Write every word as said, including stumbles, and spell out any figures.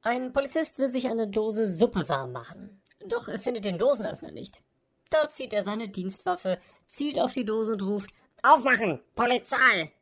Ein Polizist will sich eine Dose Suppe warm machen. Doch er findet den Dosenöffner nicht. Da zieht er seine Dienstwaffe, zielt auf die Dose und ruft: Aufmachen! Polizei!